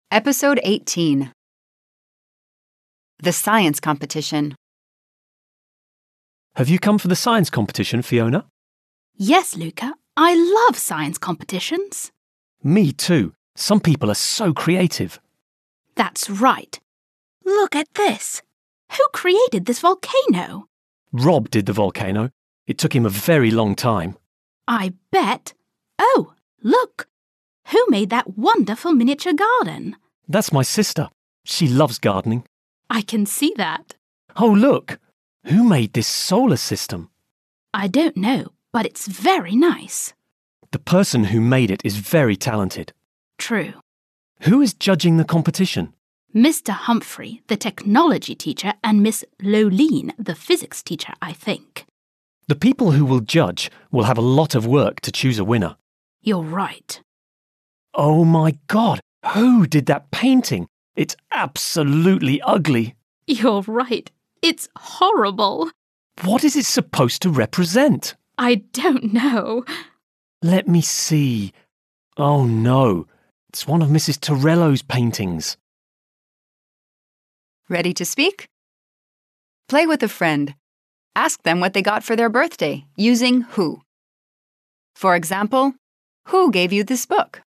Episode 18. The Science Competition. Have you come for the science competition, Fiona? Yes, Luca. I love science competitions. Me too. Some people are so creative. That's right. Look at this. Who created this volcano? Rob did the volcano. It took him a very long time. I bet. Oh, look. Who made that wonderful miniature garden? That's my sister. She loves gardening. I can see that. Oh, look. Who made this solar system? I don't know, but it's very nice. The person who made it is very talented. True. Who is judging the competition? Mr. Humphrey, the technology teacher, and Miss Loline, the physics teacher, I think. The people who will judge will have a lot of work to choose a winner. You're right. Oh my God, who did that painting? It's absolutely ugly. You're right. It's horrible. What is it supposed to represent? I don't know. Let me see. Oh no, it's one of Mrs. Torello's paintings. Ready to speak? Play with a friend. Ask them what they got for their birthday using who. For example, who gave you this book?